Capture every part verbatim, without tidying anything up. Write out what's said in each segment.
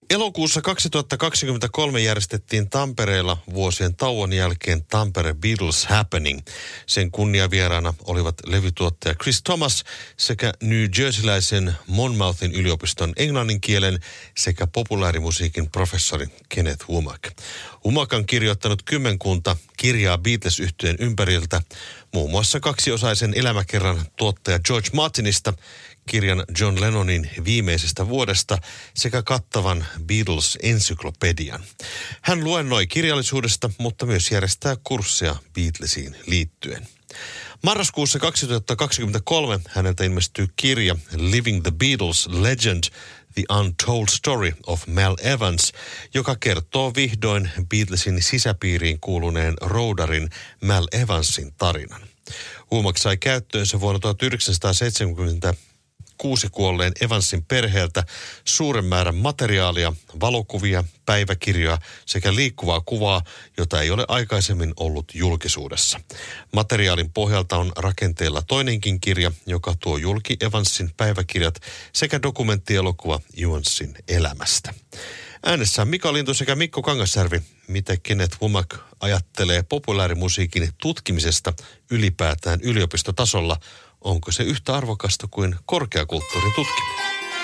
Elokuussa kaksituhattakaksikymmentäkolme järjestettiin Tampereella vuosien tauon jälkeen Tampere Beatles Happening. Sen kunniavieraana olivat levytuottaja Chris Thomas sekä New Jerseyläisen Monmouthin yliopiston englannin kielen sekä populaarimusiikin professori Kenneth Womack. Womack on kirjoittanut kymmenkunta kirjaa Beatles-yhtyeen ympäriltä, muun muassa kaksiosaisen elämäkerran tuottaja George Martinista, kirjan John Lennonin viimeisestä vuodesta sekä kattavan Beatles-ensyklopedian. Hän luennoi kirjallisuudesta, mutta myös järjestää kursseja Beatlesiin liittyen. Marraskuussa kaksituhattakaksikymmentäkolme häneltä ilmestyy kirja Living the Beatles Legend, The Untold Story of Mal Evans, joka kertoo vihdoin Beatlesin sisäpiiriin kuuluneen roudarin Mal Evansin tarinan. Womack sai käyttöönsä vuonna tuhatyhdeksänsataaseitsemänkymmentä kuusi kuolleen Evansin perheeltä suuren määrän materiaalia, valokuvia, päiväkirjoja sekä liikkuvaa kuvaa, jota ei ole aikaisemmin ollut julkisuudessa. Materiaalin pohjalta on rakenteella toinenkin kirja, joka tuo julki Evansin päiväkirjat sekä dokumenttielokuva Evansin elämästä. Äänessä on Mika Lintu sekä Mikko Kangasjärvi. Mitä Kenneth Womack ajattelee populaarimusiikin tutkimisesta ylipäätään yliopistotasolla? Onko se yhtä arvokasta kuin korkeakulttuurin tutkiminen?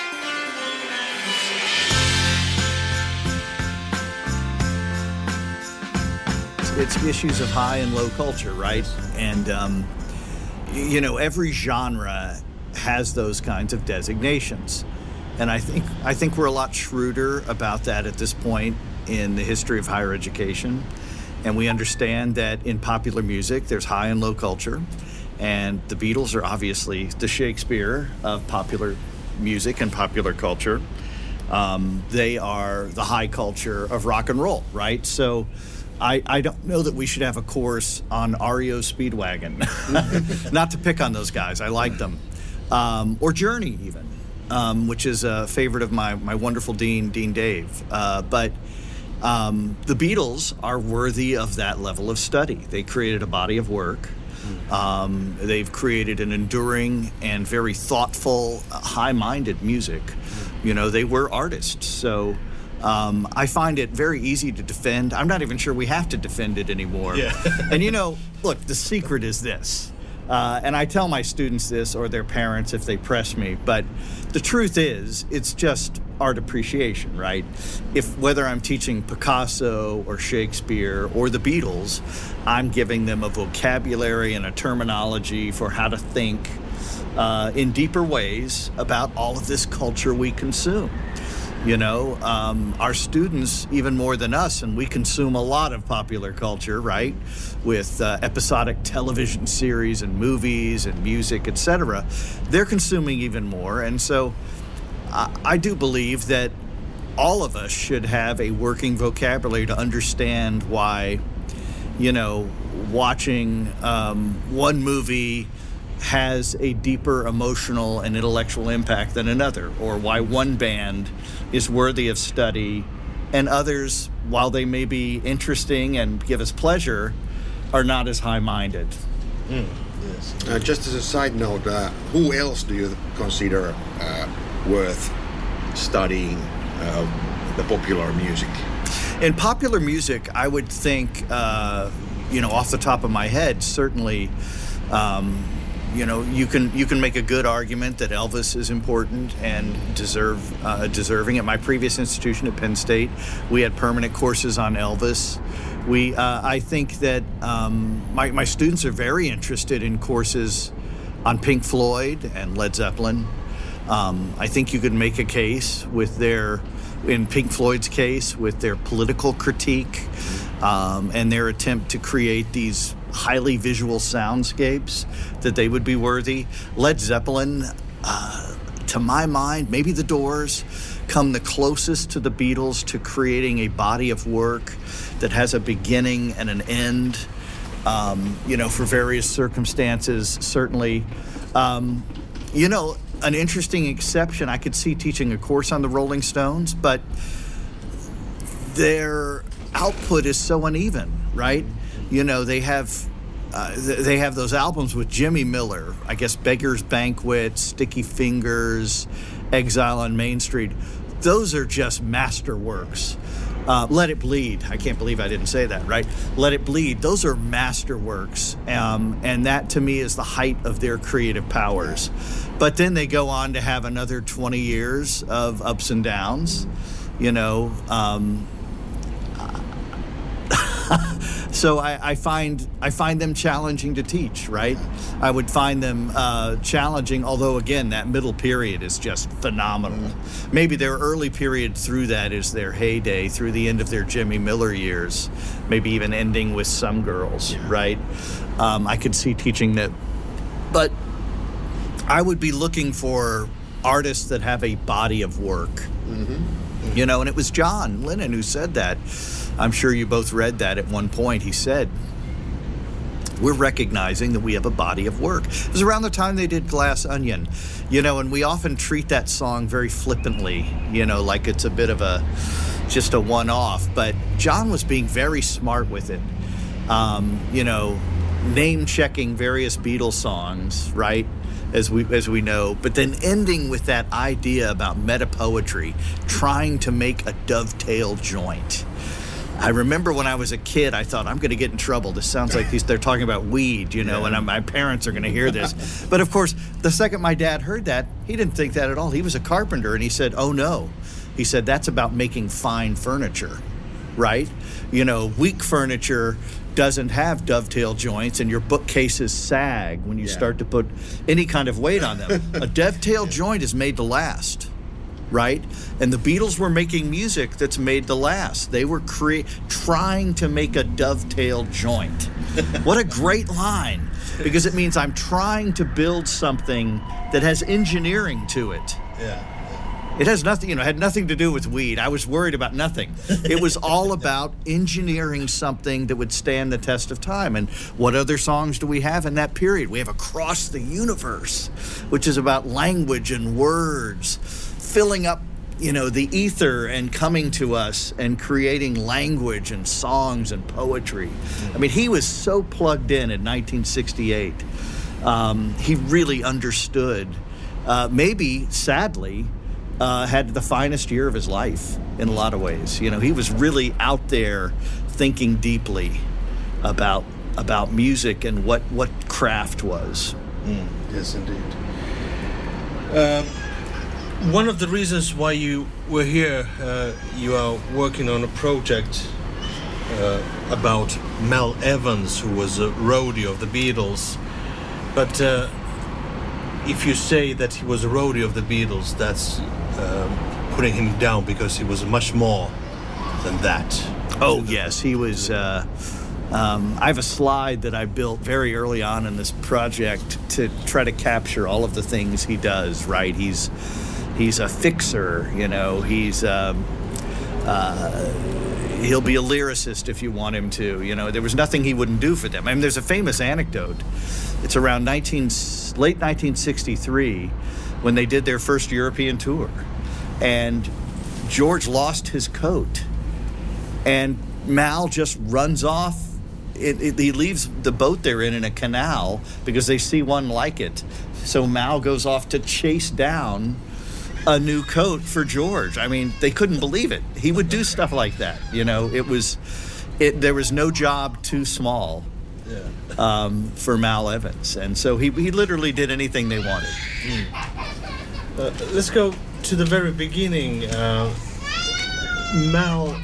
It's issues of high and low culture, right? And, um, you know, every genre has those kinds of designations. And I think I think we're a lot shrewder about that at this point in the history of higher education. And we understand that in popular music, there's high and low culture. And the Beatles are obviously the Shakespeare of popular music and popular culture. Um, they are the high culture of rock and roll, right? So I, I don't know that we should have a course on R E O Speedwagon. Not to pick on those guys. I like them. Um, or Journey even, um, which is a favorite of my, my wonderful Dean, Dean Dave. Uh, but um, the Beatles are worthy of that level of study. They created a body of work. Um, they've created an enduring and very thoughtful, uh, high-minded music. You know, they were artists. So um, I find it very easy to defend. I'm not even sure we have to defend it anymore. Yeah. And, you know, look, the secret is this. Uh, and I tell my students this or their parents if they press me. But the truth is, it's just art appreciation, right? If whether I'm teaching Picasso or Shakespeare or the Beatles, I'm giving them a vocabulary and a terminology for how to think uh, in deeper ways about all of this culture we consume. You know, um, our students, even more than us, and we consume a lot of popular culture, right? With uh, episodic television series and movies and music, et cetera. They're consuming even more. And so I, I do believe that all of us should have a working vocabulary to understand why, you know, watching um, one movie has a deeper emotional and intellectual impact than another, or why one band is worthy of study and others, while they may be interesting and give us pleasure, are not as high-minded. Mm. Yes. Uh, just as a side note, uh, who else do you consider uh, worth studying uh, the popular music? In popular music, I would think, uh, you know, off the top of my head, certainly, um, you know, you can you can make a good argument that Elvis is important and deserve uh, deserving. At my previous institution at Penn State, we had permanent courses on Elvis. We, uh, I think that um, my my students are very interested in courses on Pink Floyd and Led Zeppelin. Um, I think you could make a case with their, in Pink Floyd's case, with their political critique um, and their attempt to create these highly visual soundscapes, that they would be worthy. Led Zeppelin, uh, to my mind, maybe the Doors, come the closest to the Beatles to creating a body of work that has a beginning and an end, um, you know, for various circumstances, certainly. Um, you know, an interesting exception, I could see teaching a course on the Rolling Stones, but their output is so uneven, right? You know, they have uh, they have those albums with Jimmy Miller, I guess Beggar's Banquet, Sticky Fingers, Exile on Main Street. those are just masterworks. Uh, Let It Bleed. I can't believe I didn't say that, right? Let It Bleed. Those are masterworks. Um, and that, to me, is the height of their creative powers. But then they go on to have another twenty years of ups and downs, you know. Um, so I, I find I find them challenging to teach, right? I would find them uh, challenging, although, again, that middle period is just phenomenal. Mm-hmm. Maybe their early period through that is their heyday, through the end of their Jimmy Miller years, maybe even ending with Some Girls, yeah. right? Um, I could see teaching that. But I would be looking for artists that have a body of work. Mm-hmm. Mm-hmm. You know, and it was John Lennon who said that. I'm sure you both read that at one point. He said, we're recognizing that we have a body of work. It was around the time they did Glass Onion, you know, and we often treat that song very flippantly, you know, like it's a bit of a, just a one-off. But John was being very smart with it, um, you know, name-checking various Beatles songs, right? As we as we know, but then ending with that idea about meta-poetry, trying to make a dovetail joint. I remember when I was a kid, I thought, I'm going to get in trouble. This sounds like these, they're talking about weed, you know, yeah. and I'm, my parents are going to hear this. But of course, the second my dad heard that, he didn't think that at all. He was a carpenter, and he said, oh no. He said, that's about making fine furniture, right? You know, weak furniture doesn't have dovetail joints, and your bookcases sag when you yeah. start to put any kind of weight on them. A dovetail joint is made to last, right? And the Beatles were making music that's made to last. They were cre- trying to make a dovetail joint. What a great line, because it means I'm trying to build something that has engineering to it. Yeah. It has nothing, you know, had nothing to do with weed. I was worried about nothing. It was all about engineering something that would stand the test of time. And what other songs do we have in that period? We have Across the Universe, which is about language and words, filling up, you know, the ether and coming to us and creating language and songs and poetry. I mean, he was so plugged in in nineteen sixty-eight. Um, he really understood, uh, maybe, sadly, Uh, had the finest year of his life in a lot of ways. You know, he was really out there thinking deeply about about music and what, what craft was. Mm, yes, indeed. Um, one of the reasons why you were here, uh, you are working on a project uh, about Mal Evans, who was a roadie of the Beatles. But uh, if you say that he was a roadie of the Beatles, that's um, putting him down, because he was much more than that. Oh, yes, he was. Uh, um, I have a slide that I built very early on in this project to try to capture all of the things he does, right? He's he's a fixer, you know, he's... Um, uh, he'll be a lyricist if you want him to, you know. There was nothing he wouldn't do for them. I mean, there's a famous anecdote. It's around nineteen, late nineteen sixty-three when they did their first European tour. And George lost his coat. And Mal just runs off. It, it, he leaves the boat they're in in a canal because they see one like it. So Mal goes off to chase down a new coat for George. I mean, they couldn't believe it. He would do stuff like that. You know, it was, it, there was no job too small yeah. um, for Mal Evans. And so he, he literally did anything they wanted. Mm. Uh, let's go to the very beginning. Uh, Mal...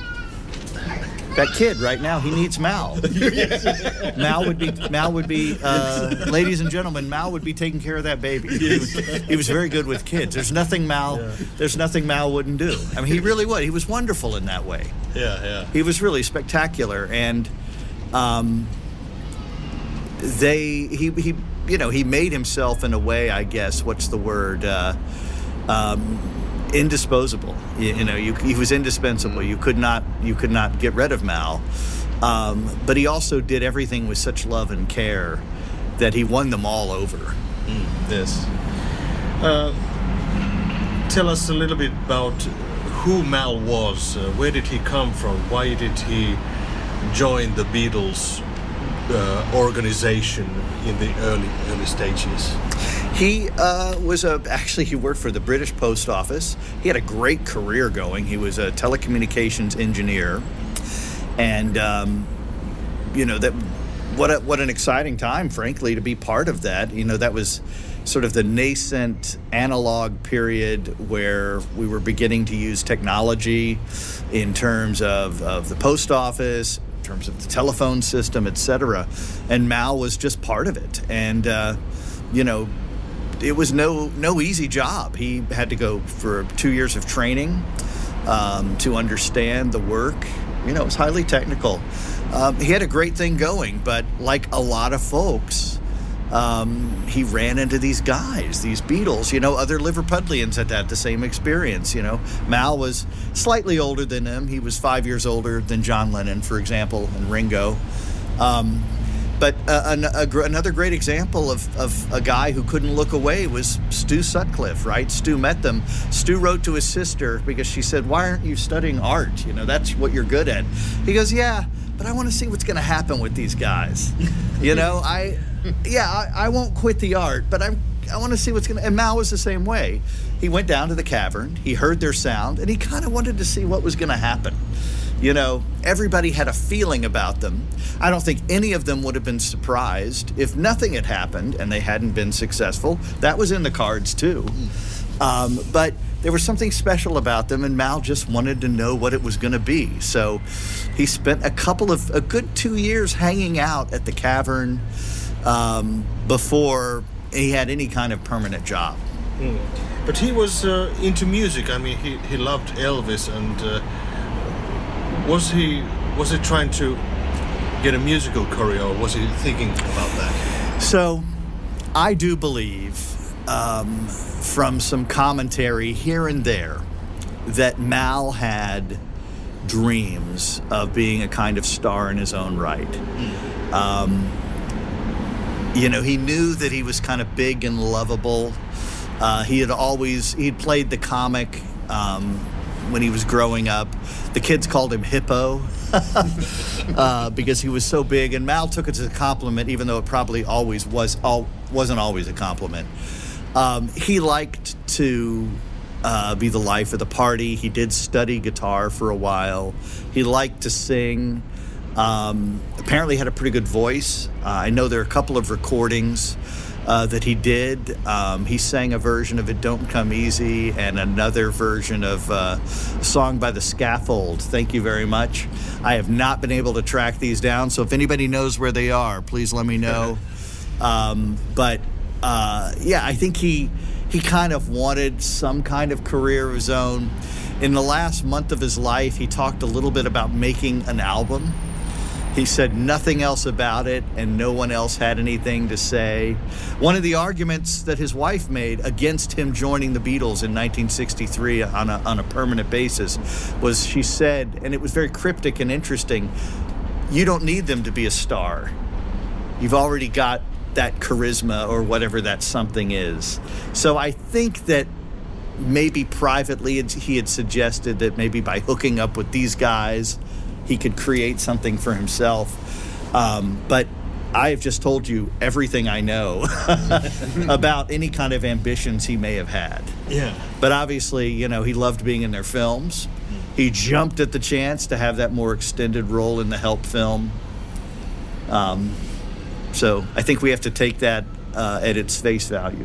That kid right now, he needs Mal. Mal would be, Mal would be, uh, ladies and gentlemen, Mal would be taking care of that baby. He was, he was very good with kids. There's nothing Mal, yeah. there's nothing Mal wouldn't do. I mean, he really would. He was wonderful in that way. Yeah, yeah. He was really spectacular, and um, they, he, he, you know, he made himself in a way, I guess. What's the word? Uh, um, indisposable. You, you know, you, he was indispensable. You could not, you could not get rid of Mal. Um, but he also did everything with such love and care that he won them all over. Mm, yes. Uh, tell us a little bit about who Mal was. Uh, where did he come from? Why did he join the Beatles? uh, organization in the early early stages? He uh, was a actually he worked for the British Post Office. He had a great career going. He was a telecommunications engineer, and um, you know that what a, what an exciting time, frankly, to be part of that. You know, that was sort of the nascent analog period where we were beginning to use technology in terms of, of the post office, in terms of the telephone system, et cetera. And Mal was just part of it. And, uh, you know, it was no no easy job. He had to go for two years of training um, to understand the work. You know, it was highly technical. Um, he had a great thing going, but like a lot of folks, Um, he ran into these guys, these Beatles. You know, other Liverpudlians had had the same experience. You know, Mal was slightly older than him. He was five years older than John Lennon, for example, and Ringo. Um, but uh, an, a, another great example of, of a guy who couldn't look away was Stu Sutcliffe, right? Stu met them. Stu wrote to his sister because she said, "Why aren't you studying art? You know, that's what you're good at." He goes, "Yeah, but I want to see what's going to happen with these guys. You know, I... Yeah, I, I won't quit the art, but I'm, I want to see what's going to... And Mal was the same way. He went down to the cavern, he heard their sound, and he kind of wanted to see what was going to happen. You know, everybody had a feeling about them. I don't think any of them would have been surprised if nothing had happened and they hadn't been successful. That was in the cards, too. Um, but there was something special about them, and Mal just wanted to know what it was going to be. So he spent a couple of... a good two years hanging out at the cavern... Um, before he had any kind of permanent job. Mm. But he was uh, into music. I mean, he, he loved Elvis, and uh, was he was he trying to get a musical career, or was he thinking about that? So, I do believe, um, from some commentary here and there, that Mal had dreams of being a kind of star in his own right. Mm. Um, You know, he knew that he was kind of big and lovable. Uh, he had always, he'd played the comic um, when he was growing up. The kids called him Hippo uh, because he was so big. And Mal took it as a compliment, even though it probably always was, all, wasn't always a compliment. Um, he liked to uh, be the life of the party. He did study guitar for a while. He liked to sing. Um, apparently had a pretty good voice. Uh, I know there are a couple of recordings uh, that he did. Um, he sang a version of It Don't Come Easy and another version of uh, a song by The Scaffold, Thank You Very Much. I have not been able to track these down, so if anybody knows where they are, please let me know. Um, but, uh, yeah, I think he, he kind of wanted some kind of career of his own. In the last month of his life, he talked a little bit about making an album. He said nothing else about it, and no one else had anything to say. One of the arguments that his wife made against him joining the Beatles in nineteen sixty-three on a, on a permanent basis was, she said, and it was very cryptic and interesting, "You don't need them to be a star. You've already got that charisma," or whatever that something is. So I think that maybe privately he had suggested that maybe by hooking up with these guys, he could create something for himself. Um, but I have just told you everything I know about any kind of ambitions he may have had. Yeah. But obviously, you know, he loved being in their films. He jumped at the chance to have that more extended role in the Help film. Um, so I think we have to take that uh, at its face value.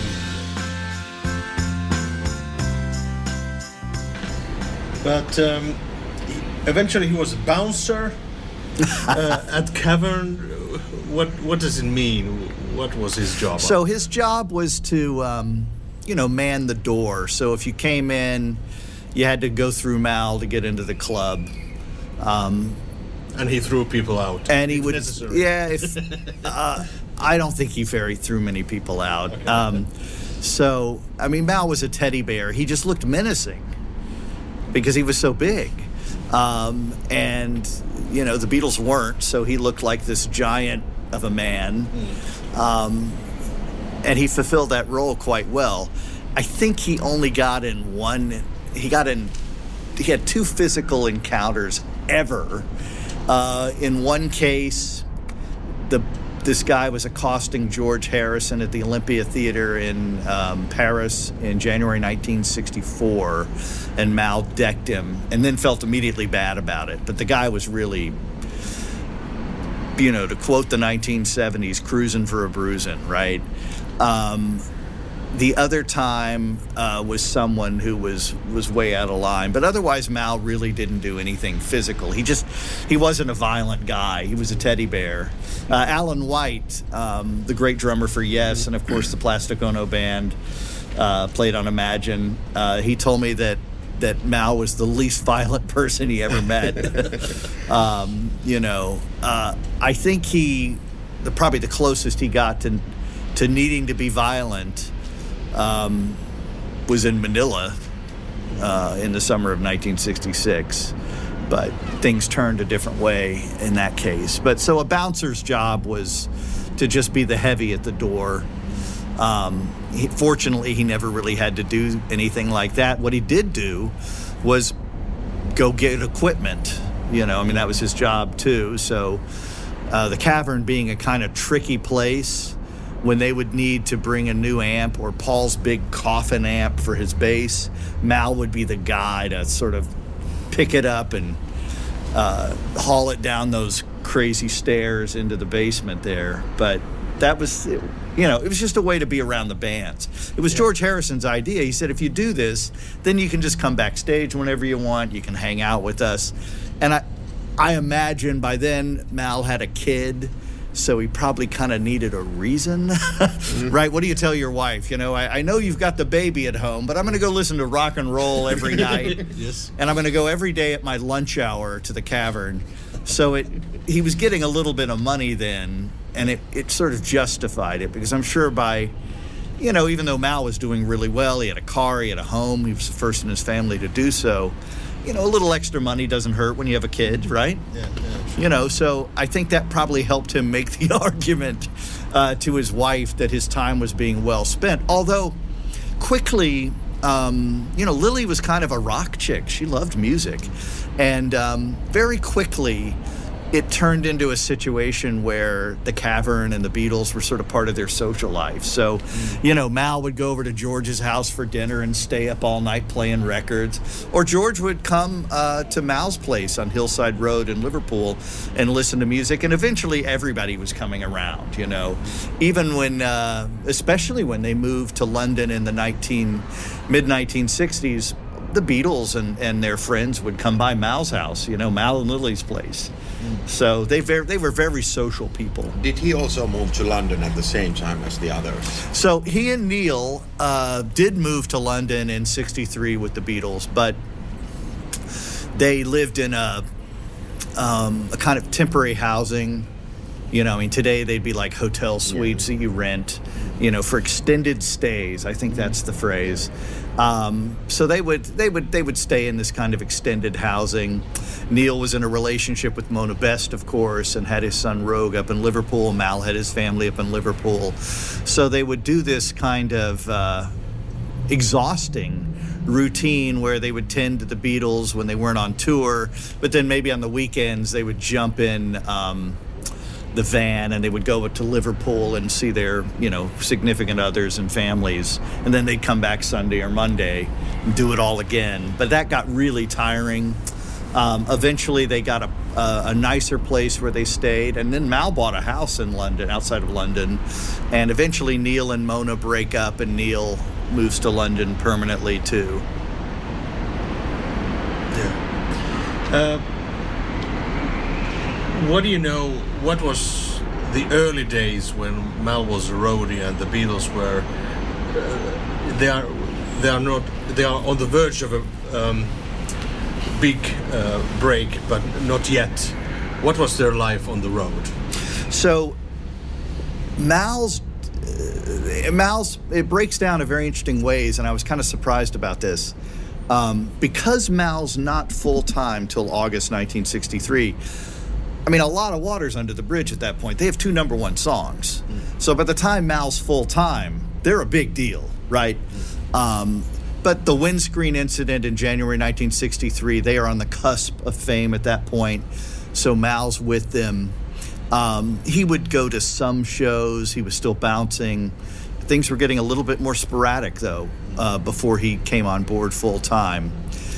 But um, eventually he was a bouncer uh, at Cavern. What what does it mean? What was his job? So his job was to, um, you know, man the door. So if you came in, you had to go through Mal to get into the club. Um, and he threw people out. And he if would, necessary. yeah. If uh, I don't think he very threw many people out. Okay. Um, so I mean, Mal was a teddy bear. He just looked menacing because he was so big. Um, and, you know, the Beatles weren't, so he looked like this giant of a man. Mm. Um, and he fulfilled that role quite well. I think he only got in one, he got in, he had two physical encounters ever. Uh, in one case, the this guy was accosting George Harrison at the Olympia Theater in um, Paris in January nineteen sixty-four, and Mal decked him and then felt immediately bad about it. But the guy was really, you know, to quote the nineteen seventies, cruising for a bruising, right? Um, the other time uh, was someone who was, was way out of line. But otherwise, Mal really didn't do anything physical. He just, he wasn't a violent guy. He was a teddy bear. Uh, Alan White, um, the great drummer for Yes, and of course the Plastic Ono Band, uh, played on Imagine. Uh, he told me that that Mal was the least violent person he ever met. um, you know, uh, I think he, the, probably the closest he got to to needing to be violent um, was in Manila uh, in the summer of nineteen sixty-six. But things turned a different way in that case. But so a bouncer's job was to just be the heavy at the door. Um, he, fortunately, he never really had to do anything like that. What he did do was go get equipment. You know, I mean, that was his job too. So uh, the Cavern being a kind of tricky place, when they would need to bring a new amp or Paul's big coffin amp for his bass, Mal would be the guy to sort of pick it up and uh, haul it down those crazy stairs into the basement there. But that was, you know, it was just a way to be around the bands. It was yeah. George Harrison's idea. He said, if you do this, then you can just come backstage whenever you want. You can hang out with us. And I, I imagine by then Mal had a kid, so he probably kind of needed a reason, mm-hmm. right? What do you tell your wife? You know, I, I know you've got the baby at home, but I'm going to go listen to rock and roll every night. Yes. And I'm going to go every day at my lunch hour to the Cavern. So it, he was getting a little bit of money then, and it, it sort of justified it, because I'm sure by, you know, even though Mal was doing really well, he had a car, he had a home, he was the first in his family to do so. You know, a little extra money doesn't hurt when you have a kid, right? Yeah, yeah. You know, so I think that probably helped him make the argument uh, to his wife that his time was being well spent. Although, quickly, um, you know, Lily was kind of a rock chick. She loved music. And um, very quickly, it turned into a situation where the Cavern and the Beatles were sort of part of their social life. So, mm. you know, Mal would go over to George's house for dinner and stay up all night playing records. Or George would come uh, to Mal's place on Hillside Road in Liverpool and listen to music. And eventually everybody was coming around, you know. Even when, uh, especially when they moved to London in the nineteen mid nineteen sixties, the Beatles and, and their friends would come by Mal's house, you know, Mal and Lily's place. Mm. So they very, they were very social people. Did he also move to London at the same time as the others? So he and Neil uh, did move to London in sixty-three with the Beatles, but they lived in a, um, a kind of temporary housing. You know, I mean, today they'd be like hotel suites yeah. that you rent, you know, for extended stays. I think that's the phrase. Um, so they would they would they would stay in this kind of extended housing. Neil was in a relationship with Mona Best, of course, and had his son Rogue up in Liverpool. Mal had his family up in Liverpool. So they would do this kind of uh, exhausting routine where they would tend to the Beatles when they weren't on tour, but then maybe on the weekends they would jump in um, the van and they would go to Liverpool and see their, you know, significant others and families, and then they'd come back Sunday or Monday and do it all again. But that got really tiring. Um, eventually they got a, a, a nicer place where they stayed, and then Mal bought a house in London, outside of London, and eventually Neil and Mona break up and Neil moves to London permanently too. Yeah. Uh, what do you know, what was the early days when Mal was a roadie and the Beatles were, uh, they are they are not, they are on the verge of a um, big uh, break, but not yet. What was their life on the road? So Mal's uh, Mal's it breaks down in very interesting ways, and I was kind of surprised about this. Um, because Mal's not full-time till August nineteen sixty-three, I mean, a lot of water's under the bridge at that point. They have two number one songs. Mm. So by the time Mal's full-time, they're a big deal, right? Mm. Um, but the windscreen incident in January nineteen sixty-three, they are on the cusp of fame at that point. So Mal's with them. Um, he would go to some shows. He was still bouncing. Things were getting a little bit more sporadic, though, uh, before he came on board full time.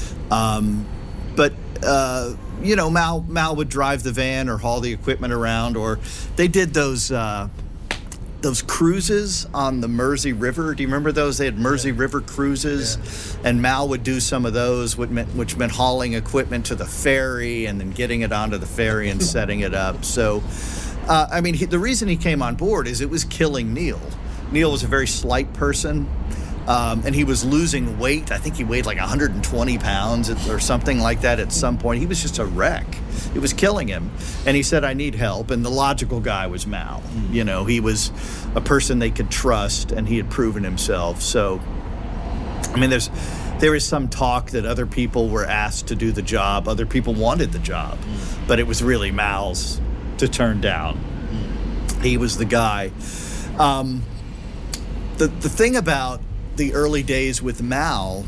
Um, but, uh, you know, Mal, Mal would drive the van or haul the equipment around, or they did those uh, those cruises on the Mersey River. Do you remember those? They had Mersey yeah. River cruises, yeah. and Mal would do some of those, which meant, which meant hauling equipment to the ferry and then getting it onto the ferry and setting it up. So, uh, I mean, he, the reason he came on board is it was killing Neil. Neil was a very slight person, um, and he was losing weight. I think he weighed like one hundred twenty pounds or something like that at some point. He was just a wreck. It was killing him. And he said, I need help. And the logical guy was Mal. Mm. You know, he was a person they could trust, and he had proven himself. So, I mean, there's there is some talk that other people were asked to do the job. Other people wanted the job. Mm. But it was really Mal's to turn down. Mm. He was the guy. Um, the the thing about the early days with Mal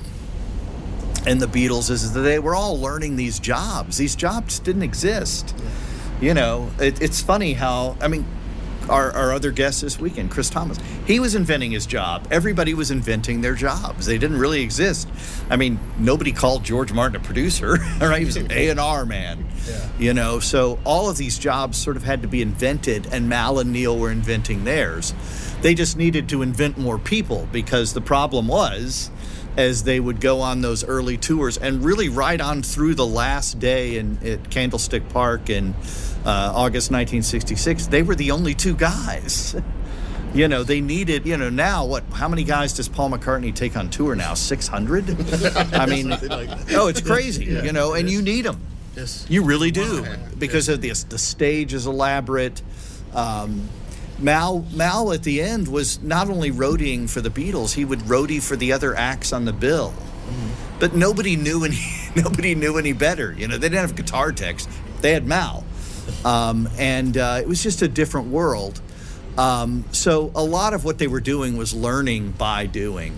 and the Beatles is that they were all learning these jobs. These jobs didn't exist. Yeah. You know, it, it's funny how, I mean, our, our other guest this weekend, Chris Thomas, he was inventing his job. Everybody was inventing their jobs. They didn't really exist. I mean, nobody called George Martin a producer, right? He was an A and R man, yeah. you know. So all of these jobs sort of had to be invented, and Mal and Neil were inventing theirs. They just needed to invent more people, because the problem was, as they would go on those early tours and really right on through the last day in at Candlestick Park in uh, August nineteen sixty-six, they were the only two guys. You know, they needed, you know, now what, how many guys does Paul McCartney take on tour now? six hundred? I mean, like oh, it's crazy, yeah, you know, and you need them. Yes. You really do, because of this, the stage is elaborate. Um, Mal, Mal at the end was not only roadieing for the Beatles, he would roadie for the other acts on the bill. Mm-hmm. But nobody knew any nobody knew any better. You know, they didn't have guitar techs. They had Mal. Um, and uh, it was just a different world. Um, so a lot of what they were doing was learning by doing.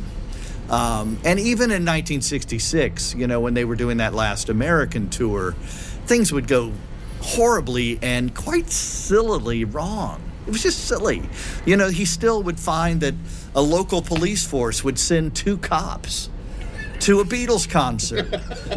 Um, and even in nineteen sixty-six, you know, when they were doing that last American tour, things would go horribly and quite sillily wrong. It was just silly. You know, he still would find that a local police force would send two cops to a Beatles concert.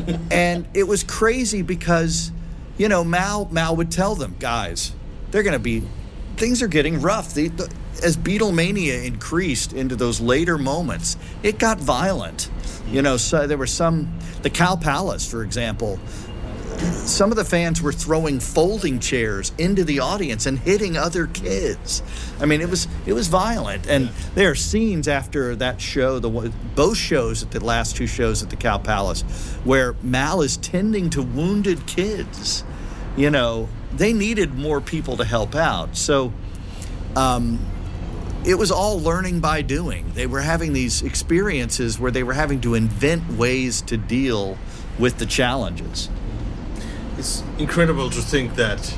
And it was crazy because, you know, Mal, Mal would tell them, guys, they're going to be, things are getting rough. The, the, as Beatlemania increased into those later moments, it got violent. You know, so there were some, the Cow Palace, for example, some of the fans were throwing folding chairs into the audience and hitting other kids. I mean, it was it was violent. And yeah. there are scenes after that show, the both shows, at the last two shows at the Cow Palace, where Mal is tending to wounded kids. You know, they needed more people to help out. So um, it was all learning by doing. They were having these experiences where they were having to invent ways to deal with the challenges. It's incredible to think that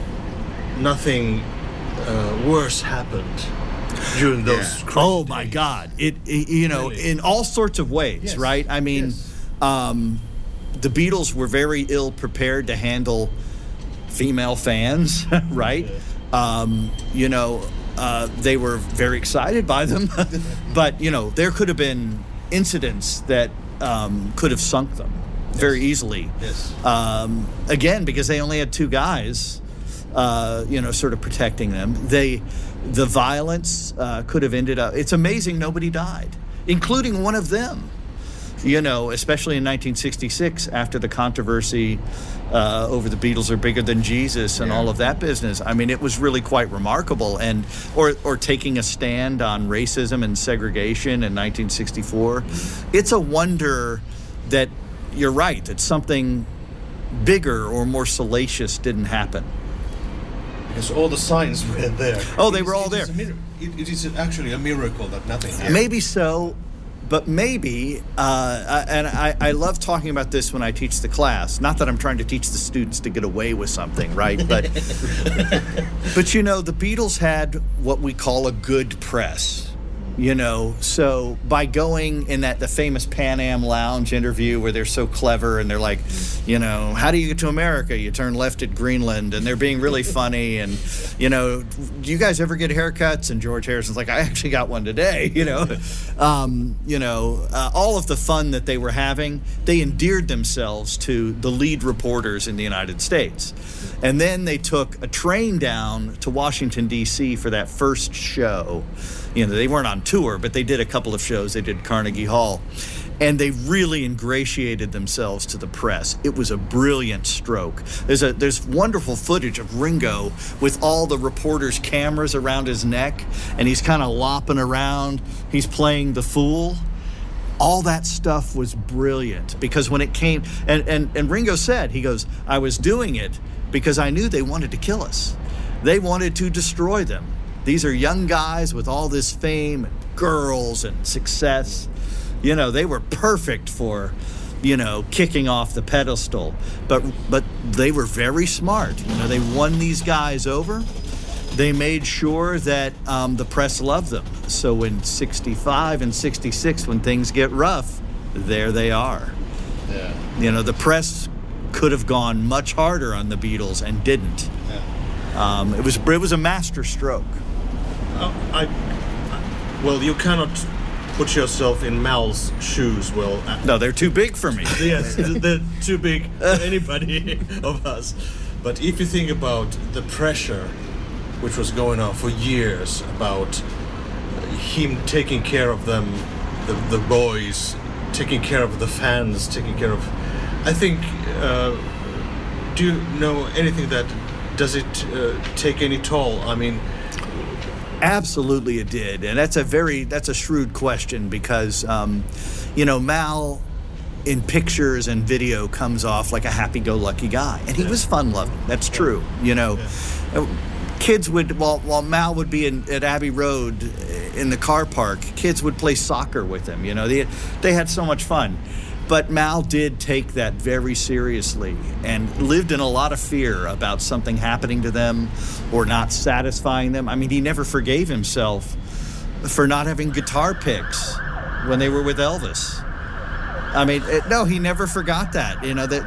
nothing uh, worse happened during those. Yeah. Oh my God! It, it you know really? in all sorts of ways, yes. right? I mean, yes. um, the Beatles were very ill prepared to handle female fans, right? Yeah. Um, you know, uh, they were very excited by them, but you know, there could have been incidents that um, could have sunk them. Yes. Very easily. Yes. Um, again, because they only had two guys, uh, you know, sort of protecting them. They, the violence uh, could have ended up. It's amazing nobody died, including one of them. You know, especially in nineteen sixty-six, after the controversy uh, over the Beatles are bigger than Jesus and yeah. all of that business. I mean, it was really quite remarkable. And or or taking a stand on racism and segregation in nineteen sixty-four. Mm-hmm. It's a wonder that. You're right, that something bigger or more salacious didn't happen. Because all the signs were there. Oh, they were all there. It, it is actually a miracle that nothing happened. Maybe so, but maybe, uh, and I, I love talking about this when I teach the class. Not that I'm trying to teach the students to get away with something, right? But, but you know, the Beatles had what we call a good press. You know, so by going in that the famous Pan Am Lounge interview where they're so clever and they're like, you know, how do you get to America? You turn left at Greenland, and they're being really funny. And, you know, do you guys ever get haircuts? And George Harrison's like, I actually got one today, you know. Um, you know, uh, all of the fun that they were having, they endeared themselves to the lead reporters in the United States. And then they took a train down to Washington, D C for that first show. You know, they weren't on tour, but they did a couple of shows. They did Carnegie Hall. And they really ingratiated themselves to the press. It was a brilliant stroke. There's a there's wonderful footage of Ringo with all the reporters' cameras around his neck, and he's kind of lopping around. He's playing the fool. All that stuff was brilliant because when it came, and, and, and Ringo said, he goes, I was doing it because I knew they wanted to kill us. They wanted to destroy them. These are young guys with all this fame and girls and success. You know, they were perfect for, you know, kicking off the pedestal. But but they were very smart. You know, they won these guys over. They made sure that um, the press loved them. So in sixty-five and sixty-six, when things get rough, there they are. Yeah. You know, the press could have gone much harder on the Beatles and didn't. Yeah. Um, it was it was a master stroke. Uh, I, I, well, you cannot put yourself in Mal's shoes. Well, uh, No, they're too big for me. yes, they're too big for anybody of us. But if you think about the pressure which was going on for years about him taking care of them, the, the boys, taking care of the fans, taking care of... I think, uh, do you know anything that, does it uh, take any toll? I mean... Absolutely it did. And that's a very, that's a shrewd question because, um, you know, Mal in pictures and video comes off like a happy-go-lucky guy. And he yeah. was fun-loving. That's true. You know, yeah. kids would, while, while Mal would be in, at Abbey Road in the car park, kids would play soccer with him. You know, they, they had so much fun. But Mal did take that very seriously and lived in a lot of fear about something happening to them or not satisfying them. I mean, he never forgave himself for not having guitar picks when they were with Elvis. I mean, it, no, he never forgot that. You know, that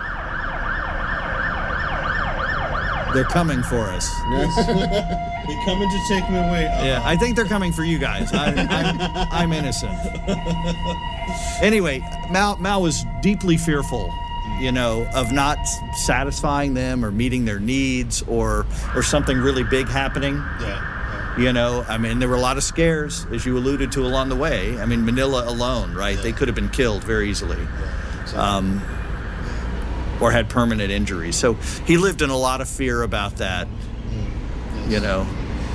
they're coming for us. They're coming to take me away. Uh-huh. Yeah, I think they're coming for you guys. I, I'm, I'm innocent. Anyway, Mal, Mal was deeply fearful, you know, of not satisfying them or meeting their needs or or something really big happening. Yeah, yeah. You know, I mean, there were a lot of scares, as you alluded to along the way. I mean, Manila alone, right? Yeah. They could have been killed very easily. Yeah, exactly. um, or had permanent injuries. So he lived in a lot of fear about that. Yes. You know,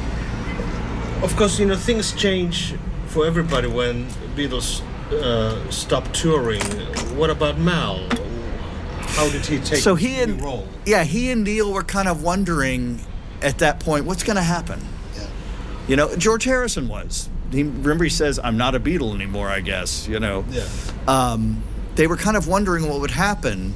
of course, you know, things change for everybody when Beatles uh, stopped touring. What about Mal? How did he take so he the and role? Yeah, he and Neil were kind of wondering at that point, what's going to happen? Yeah. You know, George Harrison was. He, remember, he says, "I'm not a Beatle anymore." I guess. You know. Yeah. Um, they were kind of wondering what would happen,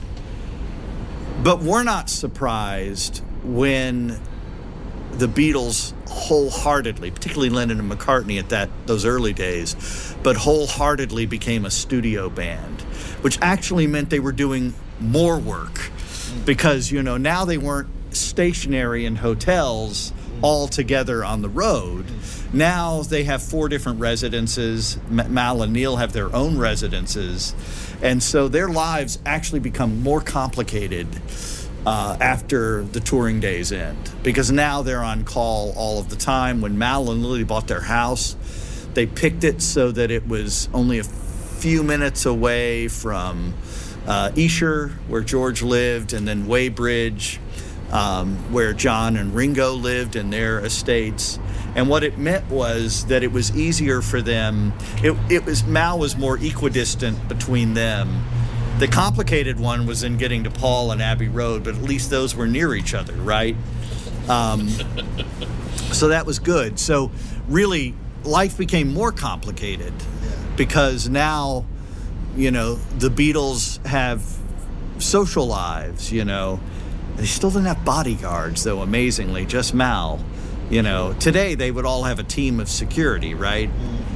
but we're not surprised when the Beatles wholeheartedly, particularly Lennon and McCartney at that those early days, but wholeheartedly became a studio band, which actually meant they were doing more work because, you know, now they weren't stationary in hotels all together on the road. Now they have four different residences. Mal and Neil have their own residences. And so their lives actually become more complicated Uh, after the touring days end, because now they're on call all of the time. When Mal and Lily bought their house, they picked it so that it was only a few minutes away from uh, Esher, where George lived, and then Weybridge, um, where John and Ringo lived in their estates. And what it meant was that it was easier for them. It, it was Mal was more equidistant between them. The complicated one was in getting to Paul and Abbey Road, but at least those were near each other, right? Um, so that was good. So really, life became more complicated because now, you know, the Beatles have social lives, you know. They still didn't have bodyguards, though, amazingly, just Mal. You know, today they would all have a team of security, right?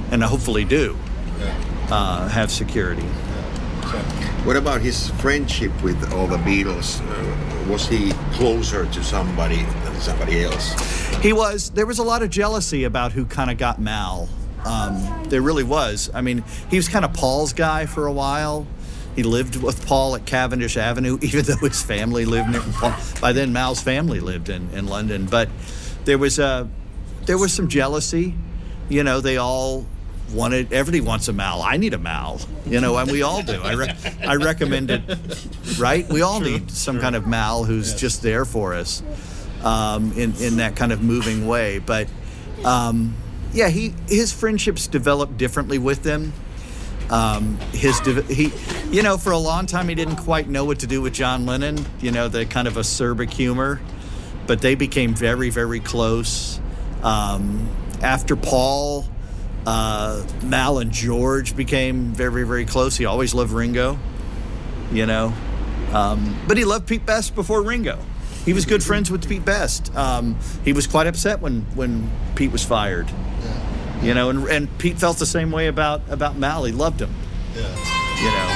and hopefully do Yeah. uh, have security. So, What about his friendship with all the Beatles? Uh, was he closer to somebody than somebody else? He was. There was a lot of jealousy about who kind of got Mal. Um, there really was. I mean, he was kind of Paul's guy for a while. He lived with Paul at Cavendish Avenue, even though his family lived near Paul. By then, Mal's family lived in, in London. But there was a, there was some jealousy. You know, they all wanted, everybody wants a Mal. I need a Mal, you know, and we all do. I re- I recommend it, right? We all need some kind of Mal who's yes. just there for us um, in, in that kind of moving way. But, um, yeah, he his friendships developed differently with them. Um, his he, you know, for a long time he didn't quite know what to do with John Lennon. You know, the kind of acerbic humor, but they became very, very close. Um, after Paul, uh, Mal and George became very, very close. He always loved Ringo, you know, um, but he loved Pete Best before Ringo. He was good friends with Pete Best. Um, he was quite upset when when Pete was fired. You know, and, and Pete felt the same way about, about Mal. He loved him. Yeah. You know.